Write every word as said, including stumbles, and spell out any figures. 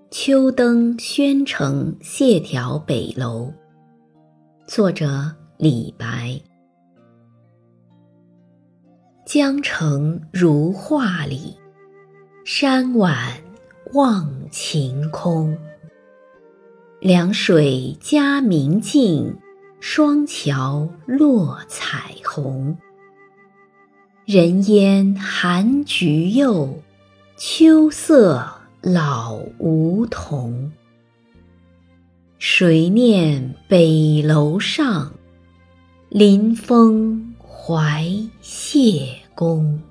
秋登宣城谢条北楼。作者李白。江城如画里，山晚望晴空。凉水佳明净，双桥落彩虹。人烟含菊柚，秋色老梧桐。谁念北楼上，临风怀谢公。